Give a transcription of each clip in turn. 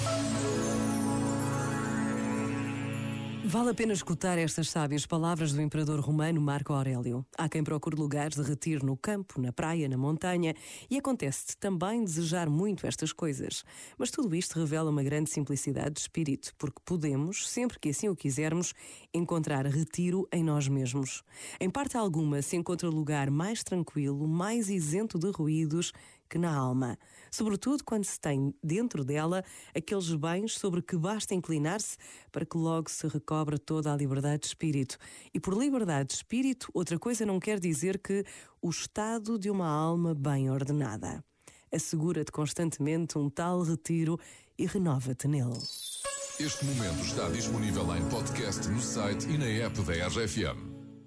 Vale a pena escutar estas sábias palavras do imperador romano Marco Aurélio. Há quem procure lugares de retiro no campo, na praia, na montanha, e acontece-te também desejar muito estas coisas. Mas tudo isto revela uma grande simplicidade de espírito, porque podemos, sempre que assim o quisermos, encontrar retiro em nós mesmos. Em parte alguma se encontra lugar mais tranquilo, mais isento de ruídos que na alma, sobretudo quando se tem dentro dela aqueles bens sobre que basta inclinar-se para que logo se recobre toda a liberdade de espírito. E por liberdade de espírito, outra coisa não quer dizer que o estado de uma alma bem ordenada. Assegura-te constantemente um tal retiro e renova-te nele. Este momento está disponível em podcast no site e na app da RFM.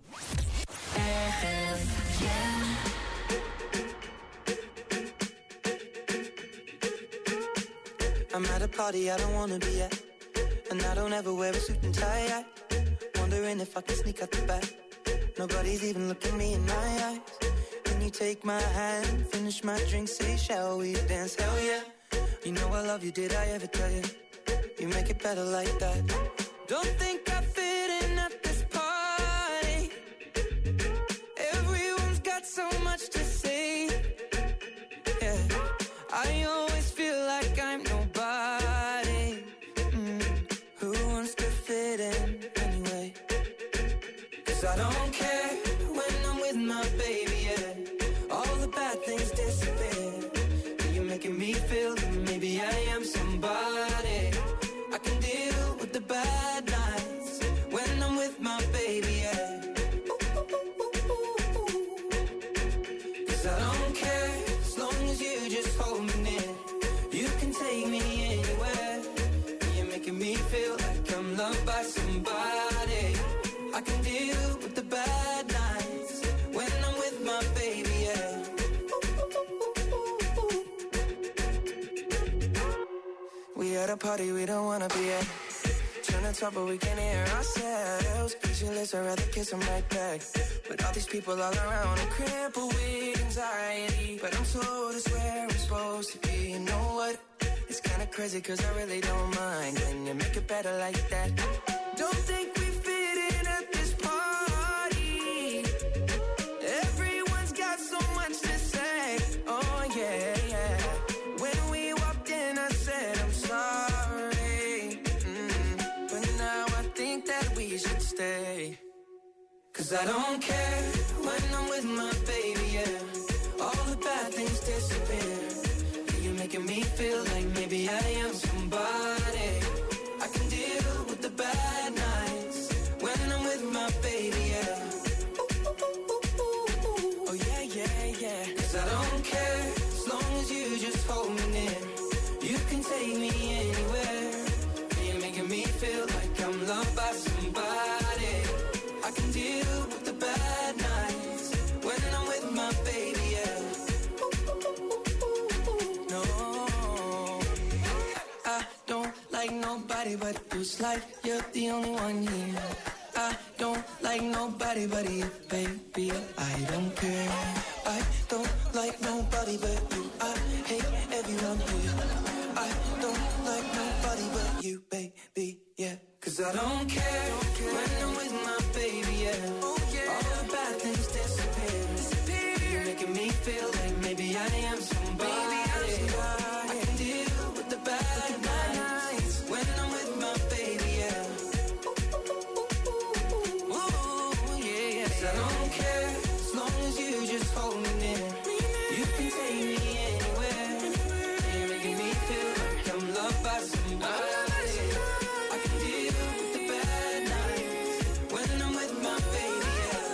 I'm at a party I don't wanna be at, and I don't ever wear a suit and tie yet. Wondering if I can sneak out the back. Nobody's even looking me in my eyes. Can you take my hand, finish my drink, say shall we dance? Hell yeah. You know I love you, did I ever tell you? You make it better like that. Don't think I fit in at this party. Everyone's got so much to say. Yeah, I always feel like I'm nobody. Who wants to fit in anyway? 'Cause I don't care when I'm with my baby, yeah. All the bad things disappear. You're making me feel that maybe I am somebody. I can deal with the bad nights when I'm with my baby, yeah. 'Cause I don't care as long as you just hold me near. You can take me anywhere. You're making me feel like I'm loved by somebody. I can deal with the bad nights when I'm with my baby, yeah. We at a party we don't wanna be at. Trying to talk but we can't hear ourselves. Pictureless, I'd rather kiss them right back. But all these people all around, I'm crippled with anxiety. But I'm told it's where I'm supposed to be. You know what? It's kinda crazy 'cause I really don't mind. Can you make it better like that? Don't think we fit in at this party. Everyone's got so much to say. Oh yeah, yeah. When we walked in I said I'm sorry. But now I think that we should stay. 'Cause I don't care when I'm with my baby, yeah. All the bad things disappear. You're making me feel like maybe I am somebody. I can deal with the bad nights when I'm with my baby, yeah. Oh yeah, yeah, yeah. 'Cause I don't care as long as you just hold me near. You can take me anywhere. You're making me feel like I'm loved by somebody. I can deal with the bad nights when I'm with my baby, yeah. No, I don't like nobody but you. It's like you're the only one here. I don't like nobody but you, baby. I don't care. I don't like nobody but you. I hate everyone here. I don't like nobody but you, baby, yeah. 'Cause I don't care when I'm with my baby, yeah. Oh, yeah. All the bad things disappear. You're making me feel like maybe I am somebody. I can deal with the bad nights when I'm with my baby, yeah. Ooh, yeah, yeah. 'Cause I don't care as long as you just hold me near. You can take me anywhere. You're making me feel like I'm loved by somebody. I can deal with the bad nights when I'm with my baby,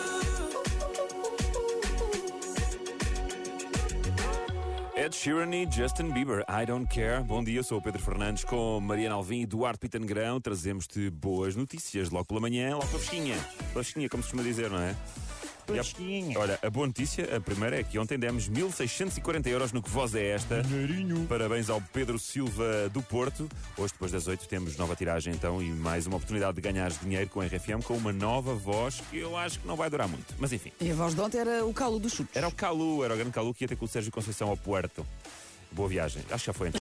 yeah. Ed Sheeran e Justin Bieber, I Don't Care. Bom dia, sou o Pedro Fernandes com Mariana Alvim e Duarte Pita Negrão. Trazemos-te boas notícias logo pela manhã, logo pela fresquinha. Pela fresquinha, como se costuma dizer, não é? Olha, a boa notícia, a primeira é que ontem demos 1.640 euros no Que Voz é Esta. Dinheirinho. Parabéns ao Pedro Silva do Porto. Hoje, depois das 8, temos nova tiragem então e mais uma oportunidade de ganhar dinheiro com a RFM com uma nova voz que eu acho que não vai durar muito. Mas enfim. E a voz de ontem era o Calu dos Chutes. Era o Calu, era o grande Calu que ia ter com o Sérgio Conceição ao Puerto. Boa viagem. Acho que já foi.